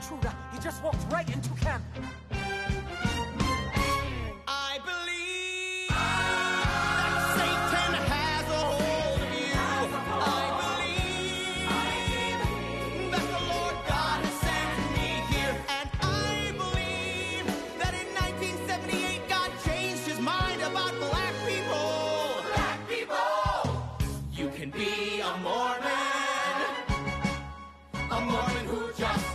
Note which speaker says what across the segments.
Speaker 1: intruder. He just walked right into camp.
Speaker 2: I believe that Satan has a hold of you. I believe that the Lord God has sent me here. And I believe that in 1978 God changed his mind about black people. Black people! You can be a Mormon who just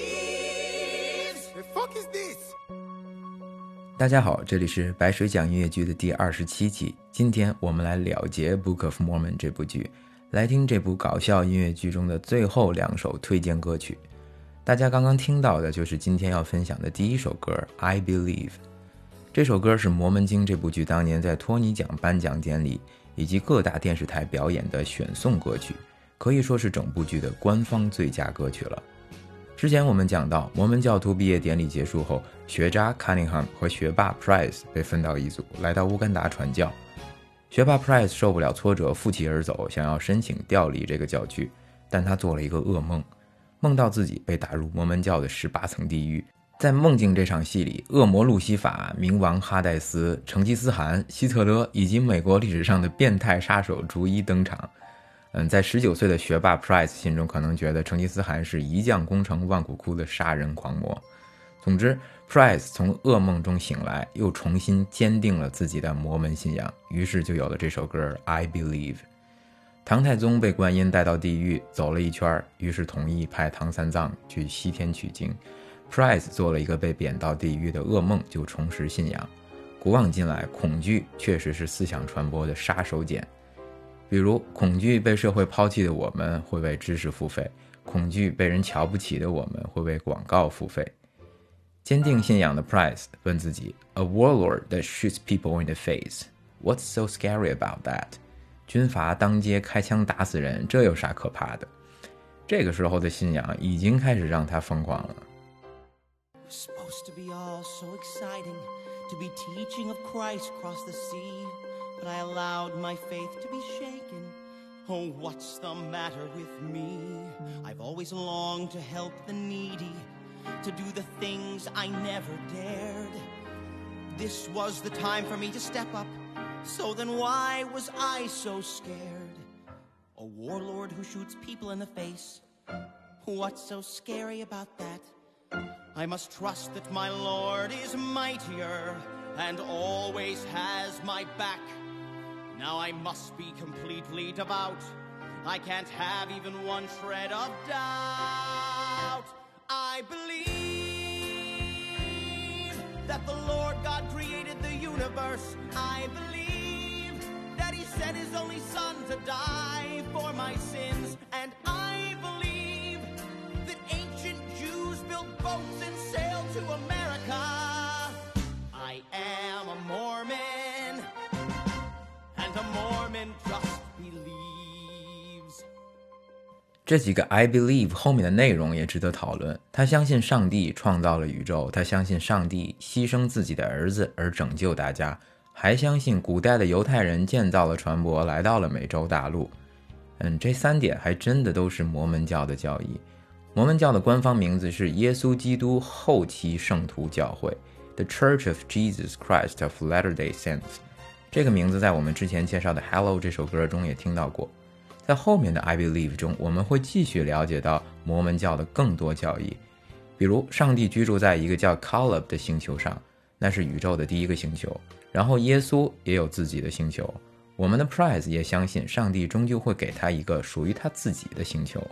Speaker 2: believes. The fuck is this?
Speaker 3: 大家好，这里是白水讲音乐剧的第27期。今天我们来了结《Book of Mormon》这部剧，来听这部搞笑音乐剧中的最后2首推荐歌曲。大家刚刚听到的就是今天要分享的第1首歌《I Believe》。这首歌是《摩门经》这部剧当年在托尼奖颁奖典礼以及各大电视台表演的选送歌曲，可以说是整部剧的官方最佳歌曲了。之前我们讲到，摩门教徒毕业典礼结束后，学渣 Cunningham 和学霸 Price 被分到一组，来到乌干达传教。学霸 Price 受不了挫折，负气而走，想要申请调离这个教区，但他做了一个噩梦，梦到自己被打入摩门教的18层地狱。在梦境这场戏里，恶魔路西法、冥王哈代斯、成吉思汗、希特勒以及美国历史上的变态杀手逐一登场。在19岁的学霸 Price 心中可能觉得成吉思汗是一将功成万骨枯的杀人狂魔。总之 Price 从噩梦中醒来，又重新坚定了自己的摩门信仰，于是就有了这首歌 I Believe。 唐太宗被观音带到地狱走了一圈，于是同意派唐三藏去西天取经。 Price 做了一个被贬到地狱的噩梦，就重拾信仰。古往今来，恐惧确实是思想传播的杀手锏。比如恐惧被社会抛弃的我们会为知识付费，恐惧被人瞧不起的我们会为广告付费。坚定信仰的 Price 问自己 A warlord that shoots people in the face. What's so scary about that? 军阀当街开枪打死人，这有啥可怕的？这个时候的信仰已经开始让他疯狂了。
Speaker 2: It's supposed to be all so exciting to be teaching of Christ across the sea.But I allowed my faith to be shaken. Oh, what's the matter with me? I've always longed to help the needy, to do the things I never dared. This was the time for me to step up, so then why was I so scared? A warlord who shoots people in the face. What's so scary about that? I must trust that my Lord is mightier and always has my back.Now I must be completely devout. I can't have even one shred of doubt. I believe that the Lord God created the universe. I believe that He sent His only Son to die for my sins. And I believe that ancient Jews built boats and sailed to America. I am a Mormon.And a Mormon just believes.
Speaker 3: 这几个 I believe 后面的内容也值得讨论。他相信上帝创造了宇宙，他相信上帝牺牲自己的儿子而拯救大家，还相信古代的犹太人建造了船舶来到了美洲大陆。这3点还真的都是摩门教的教义。摩门教的官方名字是耶稣基督后期圣徒教会 The Church of Jesus Christ of Latter-day Saints。这个名字在我们之前介绍的 Hello 这首歌中也听到过。在后面的 I Believe 中，我们会继续了解到摩门教的更多教义，比如上帝居住在一个叫 Caleb 的星球上，那是宇宙的第一个星球，然后耶稣也有自己的星球。我们的 Price 也相信上帝终究会给他一个属于他自己的星球。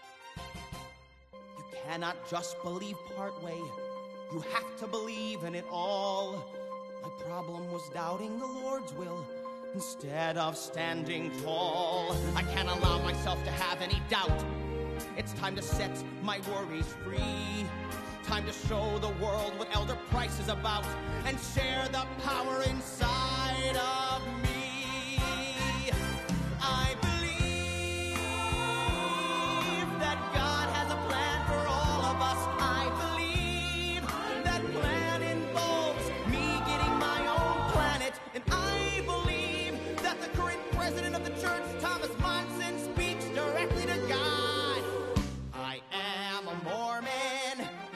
Speaker 2: You cannot just believe part way. You have to believe in it all.My problem was doubting the Lord's will instead of standing tall. I can't allow myself to have any doubt. It's time to set my worries free. Time to show the world what Elder Price is about and share the power inside of me. I believe that God has a plan for all of us. I believe that plan involves me getting my own planet.And I believe that the current president of the church, Thomas Monson, speaks directly to God. I am a Mormon,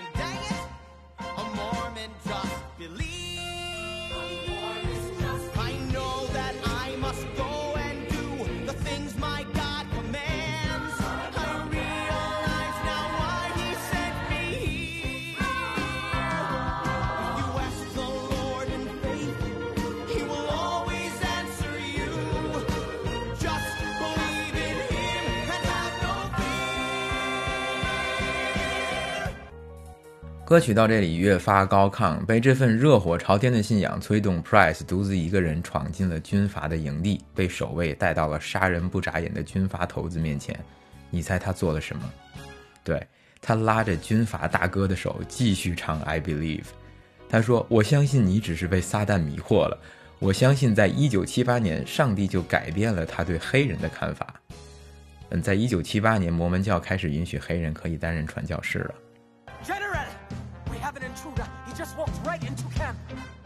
Speaker 3: 歌曲到这里越发高亢，被这份热火朝天的信仰催动 Price 独自一个人闯进了军阀的营地，被守卫带到了杀人不眨眼的军阀头子面前。你猜他做了什么？对，他拉着军阀大哥的手继续唱 I Believe。 他说，我相信你只是被撒旦迷惑了，我相信在1978年上帝就改变了他对黑人的看法。在1978年摩门教开始允许黑人可以担任传教士了。
Speaker 1: General! We have an intruder. He just walked right into camp.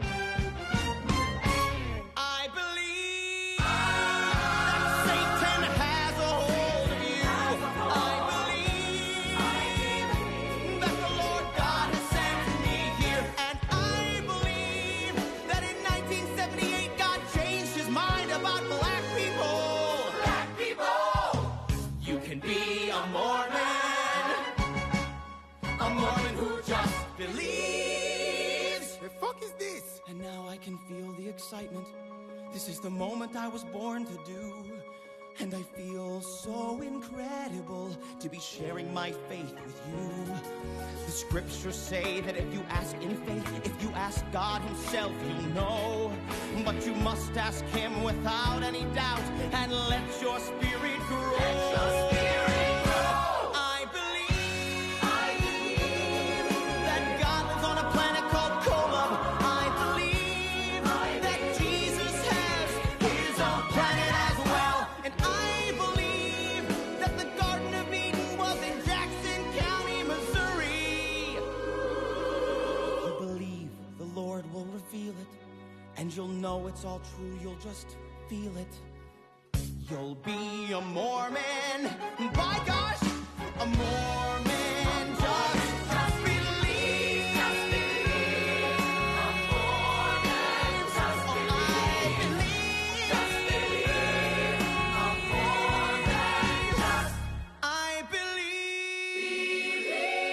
Speaker 2: I believe that Satan has a hold of you. I believe that the Lord God has sent me here. And I believe that in 1978 God changed his mind about black people. Black people! You can be a Mormon.A Mormon who just believes.
Speaker 4: The fuck is this?
Speaker 2: And now I can feel the excitement. This is the moment I was born to do. And I feel so incredible to be sharing my faith with you. The scriptures say that if you ask in faith, if you ask God himself, he'll know. But you must ask him without any doubt and let your spirit grow. Let your spirit grow.And you'll know it's all true, you'll just feel it. You'll be a Mormon. By gosh, a Mormon. Just believe. Just believe. A Mormon. Just believe. Just believe. A Mormon. Just I believe.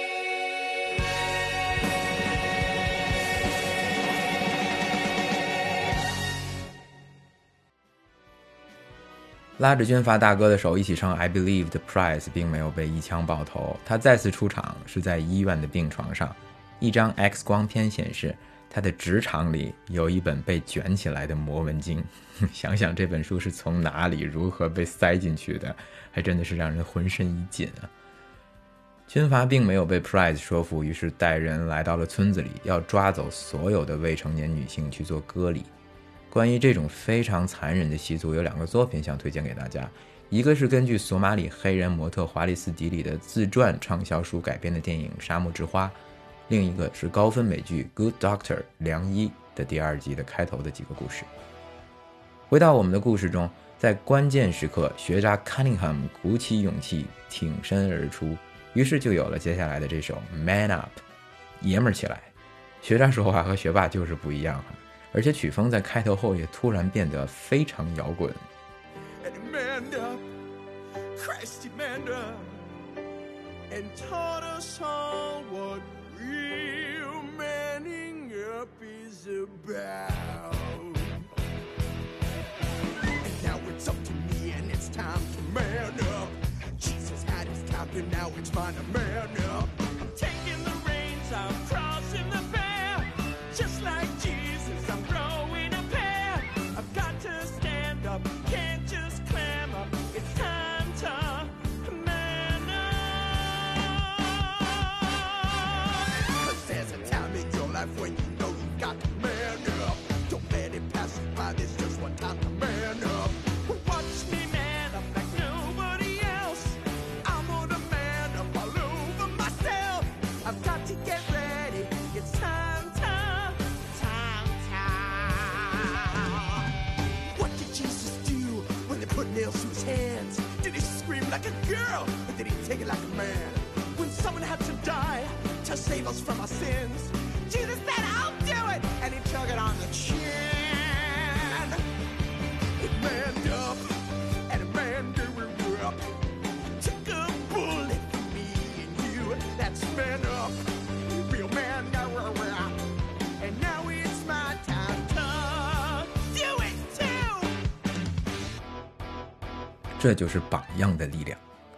Speaker 2: 拉着军阀大哥的手一起唱 I Believe 的 Price 并没有被一枪爆头，他再次出场是在医院的病床上，一张 X 光片显示他的直肠里有一本被卷起来的摩门经。想想这本书是从哪里如何被塞进去的，还真的是让人浑身一紧啊。军阀并没有被 Price 说服，于是带人来到了村子里，要抓走所有的未成年女性去做割礼。关于这种非常残忍的习俗，有2个作品想推荐给大家，一个是根据索马里黑人模特华利斯迪里的自传畅销书改编的电影《沙漠之花》，另一个是高分美剧《Good Doctor》良医的第2集的开头的几个故事。回到我们的故事中，在关键时刻，学渣 Cunningham 鼓起勇气挺身而出，于是就有了接下来的这首 Man Up， 爷们儿起来。学渣说话和学霸就是不一样，而且曲风在开头后也突然变得非常摇滚。
Speaker 4: Christ manned up and taught us all what real manning up is about. And now it's up to me and it's time to man up. Jesus had his time and now it's time to man up. I'm taking the reins, I'm crossing the bear. Just like Jesus, I'm growing a pair. I've got to stand up, can't just clam up. It's time to man up. 'Cause there's a time in your life when you know you've got to man up. Don't let it pass you by, there's just one time to man up. Watch me man up like nobody else. I'm gonna man up all over myself. I've got to get ready, it's time, time. What did Jesus do when they put nails to his hands? Did he scream like a girl, or did he take it like a man? When someone had to die to save us from our sins, Jesus said, I'll do it, and he took it on the chin. He manned up, and a man grew up. Took a bullet for me and you, that's man up. Real man grew up, and now it's my time to do it too.
Speaker 3: 这就是榜样的力量。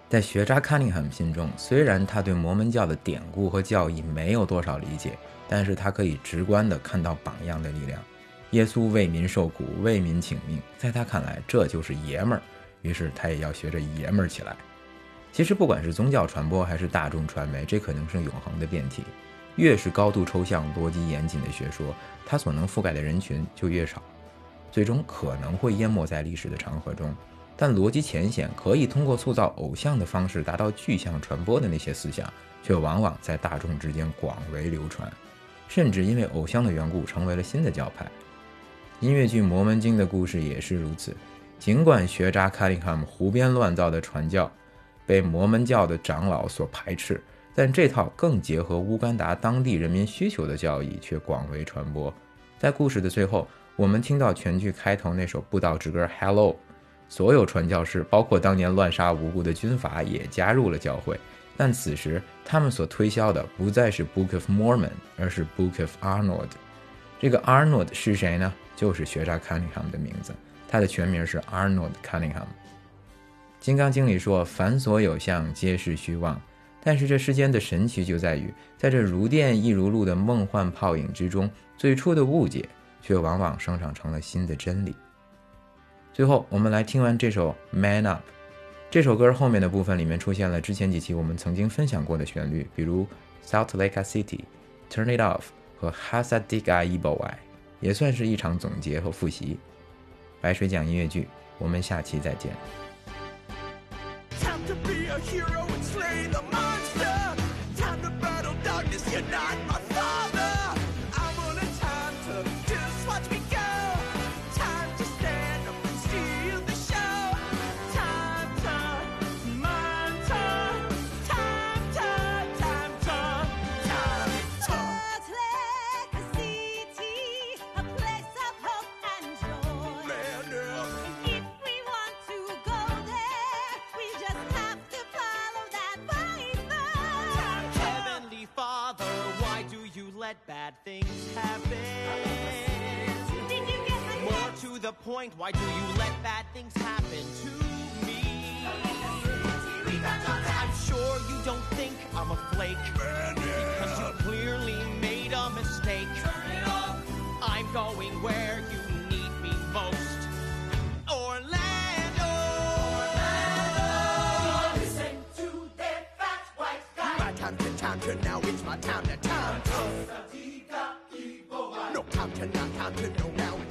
Speaker 3: 在学渣康宁汉心中，虽然他对摩门教的典故和教义没有多少理解，但是他可以直观地看到榜样的力量。耶稣为民受苦，为民请命，在他看来这就是爷们儿，于是他也要学着爷们儿起来。其实不管是宗教传播还是大众传媒，这可能是永恒的辩题。越是高度抽象、逻辑严谨的学说，它所能覆盖的人群就越少，最终可能会淹没在历史的长河中。但逻辑浅显，可以通过塑造偶像的方式达到具象传播的那些思想，却往往在大众之间广为流传，甚至因为偶像的缘故成为了新的教派。音乐剧《摩门经》的故事也是如此。尽管学渣卡林汉姆胡编乱造的传教被摩门教的长老所排斥，但这套更结合乌干达当地人民需求的教义却广为传播。在故事的最后，我们听到全剧开头那首布道之歌 Hello， 所有传教士包括当年乱杀无辜的军阀也加入了教会，但此时他们所推销的不再是 Book of Mormon， 而是 Book of Arnold。 这个 Arnold 是谁呢？就是学渣 Cunningham 的名字，他的全名是 Arnold Cunningham。 金刚经里说凡所有相皆是虚妄，但是这世间的神奇就在于，在这如电亦如露的梦幻泡影之中，最初的误解却往往生长成了新的真理。最后我们来听完这首 Man Up。 这首歌后面的部分里面出现了之前几期我们曾经分享过的旋律，比如 Salt Lake City、 Turn It Off 和 Hasadiga Ibowai， 也算是一场总结和复习。白水讲音乐剧，我们下期再见。
Speaker 4: Time to be a hero and slay the monster. Time to battle darkness, you're not my father. I'm on a time to just watch me go. Time to stand up and steal the show. Time to, my time. Time to.
Speaker 5: Salt Lake City, a place of hope and joy.
Speaker 4: Man up.
Speaker 5: If we want to go there, we just have to follow that python.
Speaker 2: Heavenly Father, why do you let bad things happen?
Speaker 5: Did you get my
Speaker 2: More to the point, why do you let bad things happen to me? I'm sure you don't think I'm a flake, because you clearly made a mistake. I'm going where you need me most. Orlando.
Speaker 4: Listen to their fat white guy. My time to now, it's my time to. No time to not, time to know now.